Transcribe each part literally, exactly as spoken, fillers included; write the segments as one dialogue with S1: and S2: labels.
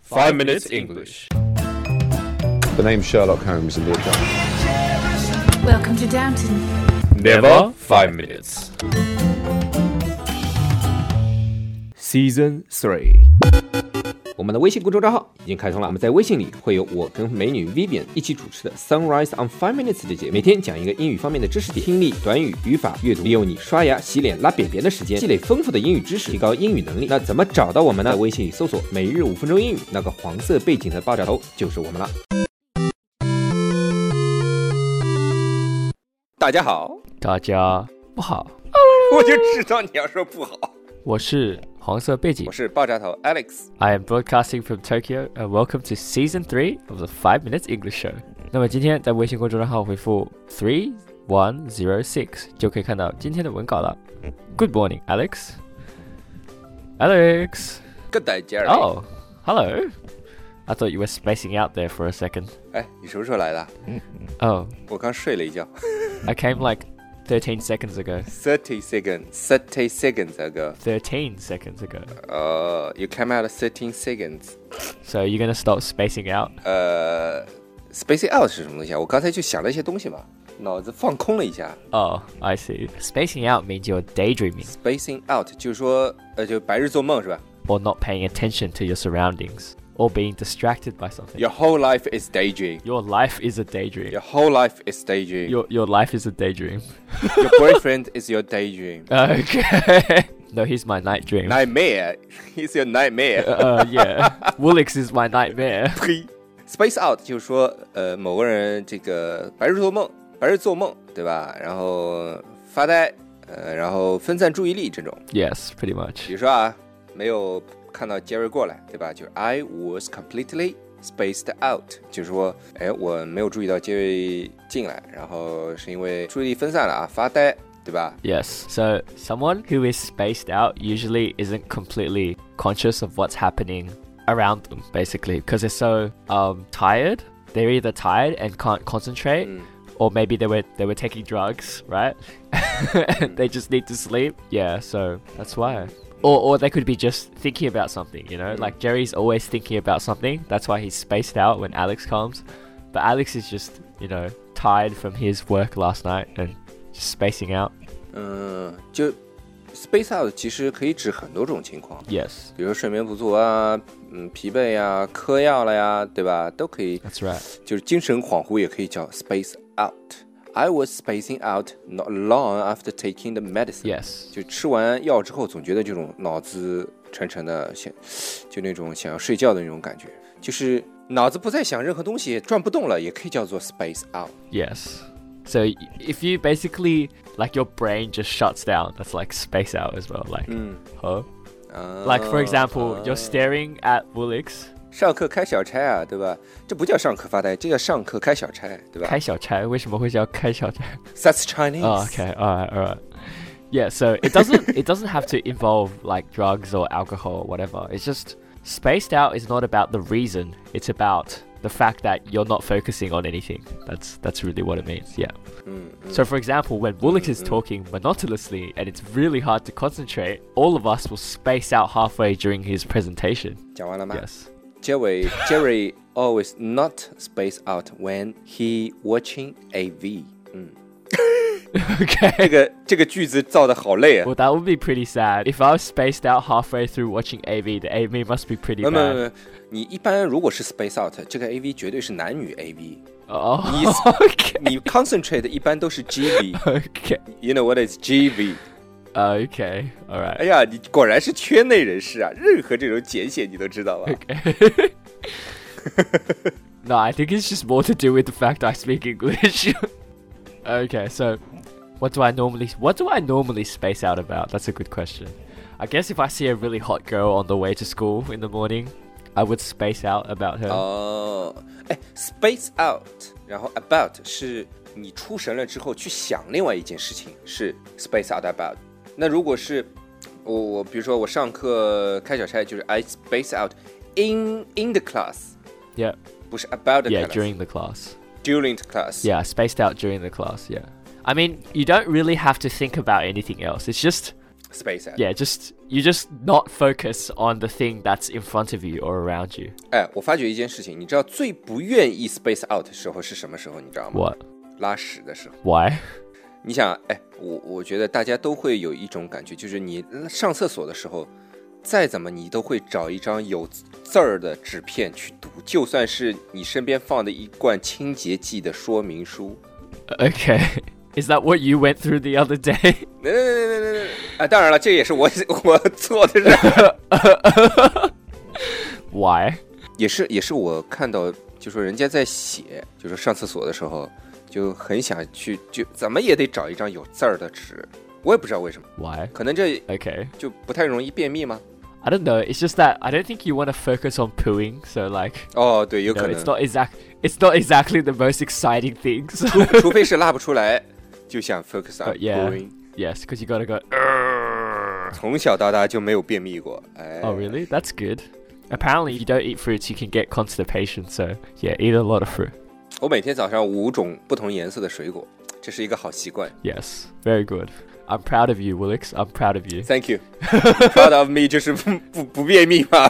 S1: Five Minutes English.
S2: The name's Sherlock Holmes in the account.
S3: Welcome to Downton.
S1: Never five minutes.
S4: Season three。 我们的微信公众账号已经开通了，我们在微信里会有我跟美女 Vivian 一起主持的 Sunrise on Five Minutes 的节目，每天讲一个英语方面的知识点，听力、短语、语法、阅读，利用你刷牙、洗脸、拉便便的时间，积累丰富的英语知识，提高英语能力。那怎么找到我们呢？在微信里搜索每日五分钟英语，那个黄色背景的爆炸头就是我们了。大家好，
S1: 大家不好，
S4: 我就知道你要说不好。
S1: 我是黄色背景，
S4: 我是爆炸头 Alex。
S1: I am broadcasting from Tokyo and welcome to Season three of the Five Minutes English Show。 那么今天在微信公众账号回复three one zero six 就可以看到今天的文稿了。 Good morning, Alex. Alex.
S4: Good day, Jerry.
S1: Oh, hello. I thought you were spacing out there for a second.
S4: 哎，你什么时候来的？
S1: Oh,
S4: 我刚睡了一觉。
S1: I came like thirteen seconds ago.
S4: thirty seconds, thirty seconds ago.
S1: thirteen seconds ago.
S4: Uh, you came out thirteen seconds.
S1: So you're gonna stop spacing out?
S4: 呃、uh, ，spacing out 是什么东西啊？我刚才就想了一些东西嘛，脑子放空了一下。
S1: Oh, I see. Spacing out means you're daydreaming.
S4: Spacing out 就是说，呃，就白日做梦是吧？
S1: Or not paying attention to your surroundings. Or being distracted by something.
S4: Your whole life is daydream.
S1: Your life is a daydream.
S4: Your whole life is daydream.
S1: Your, your life is a daydream.
S4: Your boyfriend is your daydream.
S1: Okay. No, he's my night dream.
S4: Nightmare. He's your nightmare.
S1: Uh, yeah. Woolix is my nightmare.
S4: 呸 Space out 就是说，呃，某个人这个白日做梦，白日做梦，对吧？然后发呆，呃，然后分散注意力这种。
S1: Yes, pretty much.
S4: 比如说啊，没有看到 Jerry 过来，对吧？就是 I was completely spaced out， 就是说，哎，我没有注意到 Jerry 进来，然后是因为注意力分散了啊，发呆，对吧？
S1: Yes. So someone who is spaced out usually isn't completely conscious of what's happening around them, basically, because they're so um, tired. They're either tired and can't concentrate,
S4: Mm.
S1: or maybe they were they were taking drugs, right? And they just need to sleep. Yeah, so that's why. Or, or they could be just thinking about something, you know?
S4: Mm.
S1: Like Jerry's always thinking about something. That's why he's spaced out when Alex comes. But Alex is just, you know, tired from his work last night and just spacing out.
S4: 嗯，就 space out 其实可以指很多种情况。
S1: Yes,
S4: 比如说睡眠不足啊，嗯，疲惫呀，嗑药了呀，对吧？都可以。
S1: that's right.
S4: 就是精神恍惚也可以叫 space out。I was spacing out not long after taking the medicine.
S1: Yes.
S4: 就吃完药之后，总觉得这种脑子沉沉的，想就那种想要睡觉的那种感觉，就是脑子不再想任何东西，转不动了，也可以叫做 space out.
S1: Yes. So if you basically, like your brain just shuts down, that's like space out as well. Like,
S4: 嗯
S1: huh?
S4: 啊
S1: Like for example,
S4: 啊
S1: you're staring at Woolix.
S4: 上课开小差啊，对吧？这不叫上课发呆，这叫上课开小差，对吧？
S1: 开小差，为什么会叫开小差？
S4: That's Chinese.
S1: Oh, okay. All right. All right. Yeah. So it doesn't. It doesn't have to involve like drugs or alcohol or whatever. It's just spaced out is not about the reason. It's about the fact that you're not focusing on anything. That's that's really what it means. Yeah.
S4: 嗯嗯
S1: So for example, when Woolix is talking monotonously and it's really hard to concentrate, all of us will space out halfway during his presentation.
S4: 讲完了吗？
S1: Yes.
S4: Jerry Jerry always not space out when he watching A V. 嗯，
S1: Okay.
S4: 这个这个句子造的好累啊。
S1: Well, that would be pretty sad. If I was spaced out halfway through watching A V, the A V must be pretty
S4: 没没
S1: bad.
S4: 没，你一般如果是 space out，这个 A V 绝对是男女 A V。
S1: Oh,
S4: 你
S1: okay.
S4: 你 concentrate 一般都是 G V。
S1: Okay.
S4: You know what is G V？
S1: Okay. All
S4: 哎
S1: right.
S4: 呀，你果然是圈内人士啊，任何这种简写你都知道吧？
S1: Okay. No, I think it's just more to do with the fact I speak English. Okay, so what do I normally what do I normally space out about? That's a good question. I guess if I see a really hot girl on the way to school in the morning, I would space out about her.
S4: 哦，哎 ，space out， 然后 about 是你出神了之后去想另外一件事情，是 space out about。那如果是我我比如说我上课开小差，就是 I space out in in the class，
S1: Yeah.
S4: 不是 about the
S1: Yeah,
S4: class。
S1: during the class.
S4: during the class。
S1: Yeah, spaced out during the class, yeah. I mean, you don't really have to think about anything else. It's just
S4: space out.
S1: Yeah, just you just not focus on the thing that's in front of you or around you.
S4: 哎，我发觉一件事情，你知道最不愿意 space out 的时候是什么时候？你知道吗
S1: What?
S4: 拉屎的时候。
S1: Why?
S4: 你想，哎，我我觉得大家都会有一种感觉，就是你上厕所的时候，再怎么你都会找一张有字儿的纸片去读，就算是你身边放的一罐清洁剂的说明书。
S1: Okay. Is that what you went through the other day?
S4: 那那那那那，啊，当然了，这也是我我做的事。
S1: Why?
S4: 也是也是我看到，就说人家在写，就是上厕所的时候，就很想去，就怎么也得找一张有字儿的纸。我也不知道为什么，
S1: Why?
S4: 可能这
S1: Okay.
S4: 就不太容易便秘吗？
S1: I don't know. It's just that I don't think you want to focus on pooing. So like,
S4: 哦，对，有
S1: no,
S4: 可能
S1: it's。not exact. It's not exactly the most exciting things.
S4: 除除非是拉不出来，就想 focus on
S1: Uh, yeah.
S4: pooing。
S1: Yes, because you gotta go.
S4: 从小到大就没有便秘过。哎
S1: Oh, really? That's good. Apparently, if you don't eat fruits, you can get constipation. So yeah, eat a lot of fruit.
S4: 我每天早上五种不同颜色的水果，这是一个好习惯。
S1: Yes, very good. I'm proud of you, Willix. I'm proud of you.
S4: Thank you. Proud of me 就是不不不便秘吗？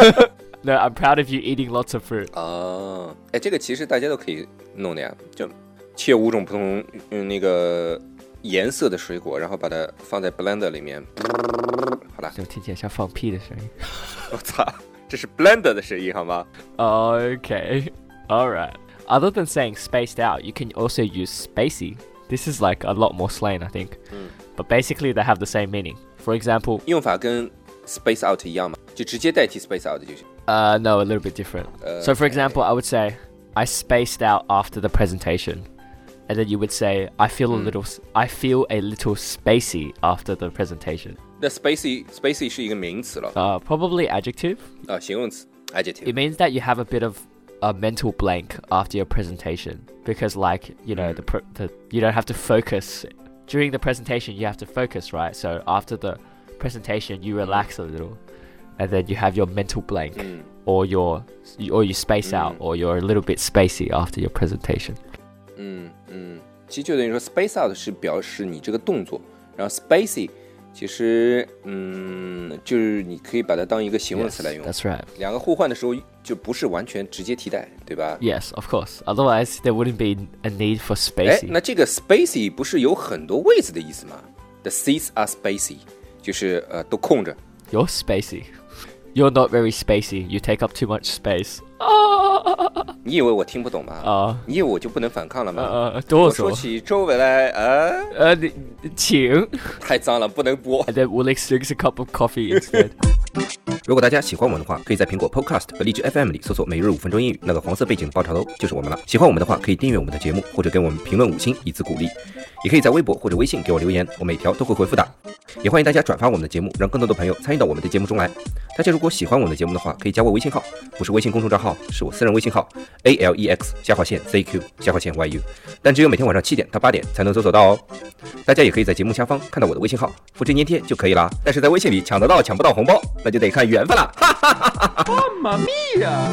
S1: No, I'm proud of you eating lots of fruit.
S4: 哦，哎，这个其实大家都可以弄的呀，就切五种不同嗯那个颜色的水果，然后把它放在 blender 里面。好了，
S1: 就听起来像放屁的声音。
S4: 我操，这是 blender 的声音好吗？
S1: Okay. All right. Other than saying spaced out, you can also use spacey. This is like a lot more slang, I think. But basically, they have the same meaning. For example,
S4: 用法跟 space out 一样吗？就直接代替 space out 就行。
S1: uh, no, a little bit different. So, for example, I would say, I spaced out after the presentation. And then you would say, I feel a little, I feel a little spacey after the presentation.
S4: 那 spacey spacey 是一个名词了
S1: Uh, probably adjective.
S4: 啊，形容词 adjective。
S1: It means that you have a bit of a mental blank after your presentation because, like, you know, the, pr- the you don't have to focus during the presentation. You have to focus, right? So after the presentation, you relax a little, and then you have your mental blank, or your or you space out, or you're a little bit spacey after your presentation.
S4: 嗯嗯，其实就等于说 space out 是表示你这个动作，然后 spacey 其实嗯就是你可以把它当一个形容
S1: Yes,
S4: 词来用。
S1: that's right.
S4: 两个互换的时候就不是完全直接替代，对吧？
S1: Yes, of course. Otherwise, there wouldn't be a need for
S4: 哎，
S1: spacey.
S4: 那这个 spacey 不是有很多位置的意思吗 ？The seats are spacey， 就是呃都空着。
S1: You're spacey. You're not very spacey. You take up too much space.
S4: 你以为我听不懂吗？
S1: 啊
S4: 你以为我就不能反抗了吗？
S1: 呃，多说。
S4: 我说起周围来，啊，
S1: 呃，你请。
S4: 太脏了，不能播。
S1: And then Willix drinks a cup of coffee instead.
S4: 如果大家喜欢我们的话，可以在苹果 Podcast 和荔枝 F M 里搜索每日五分钟英语，那个黄色背景的爆炒头就是我们了。喜欢我们的话，可以订阅我们的节目，或者给我们评论五星以资鼓励。也可以在微博或者微信给我留言，我每条都会回复的。也欢迎大家转发我们的节目，让更多的朋友参与到我们的节目中来。大家如果喜欢我们的节目的话，可以加我微信号，不是微信公众账号，是我私人微信号 A L E X 下划线 Z Q 下划线 Y U， 但只有每天晚上七点到八点才能搜索到哦。大家也可以在节目下方看到我的微信号，复制粘贴就可以啦。但是在微信里抢得到抢不到红包，那就得看缘分了。哈哈哈哈哈！妈咪呀！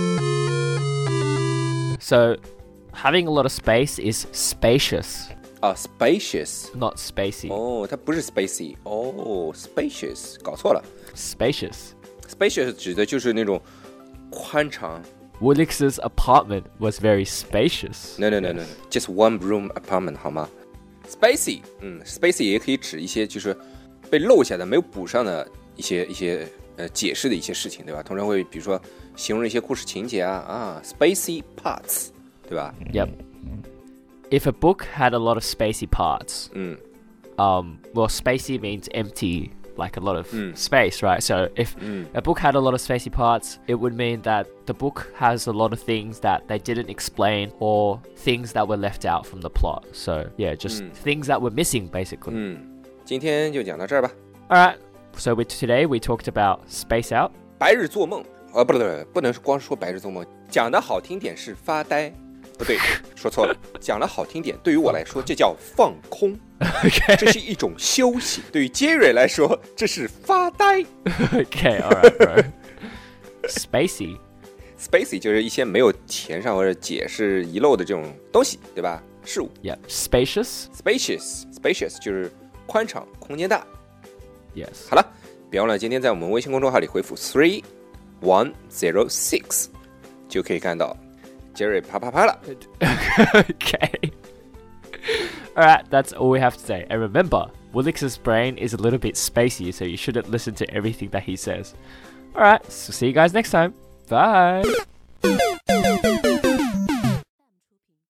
S1: So, having a lot of space is spacious,
S4: 啊 ，spacious，
S1: not spacey.
S4: 哦，它不是 spacey，哦 ，spacious， 搞错了
S1: Spacious.
S4: ，spacious 指的就是那种宽敞。
S1: Willix's apartment was very spacious.
S4: No no no no no，just one room apartment 好吗 ？spacey， 嗯 ，spacey 也可以指一些就是被漏下的、没有补上的一些一些呃解释的一些事情，对吧？通常会比如说形容一些故事情节啊啊 ，spacey parts， 对吧？
S1: Yep. If a book had a lot of spacey parts,
S4: 嗯
S1: um, well, spacey means empty, like a lot of
S4: Mm.
S1: space, right? So if
S4: Mm.
S1: a book had a lot of spacey parts, it would mean that the book has a lot of things that they didn't explain or things that were left out from the plot. So yeah, just
S4: Mm.
S1: things that were missing, basically.
S4: 嗯，今天就讲到这儿吧。
S1: All right. So we, today we talked about space out.
S4: 白日做梦啊，不对，不能光说白日做梦，讲的好听点是发呆，不对，说错了，讲的好听点，对于我来说这叫放空，
S1: Okay.
S4: 这是一种休息；对于杰瑞来说，这是发呆。
S1: Okay. All right, bro. Spacey.
S4: Spacey 就是一些没有填上或者解释遗漏的这种东西，对吧？事物。
S1: Yeah. Spacious.
S4: Spacious，spacious 就是宽敞、空间大。
S1: Yes.
S4: 好了，别忘了今天在我们微信公众号里回复 three one zero six 就可以看到杰瑞啪啪啪了。
S1: Okay. Alright, that's all we have to say. And remember, Woolix's brain is a little bit spacey, so you shouldn't listen to everything that he says. Alright, so see you guys next time. Bye!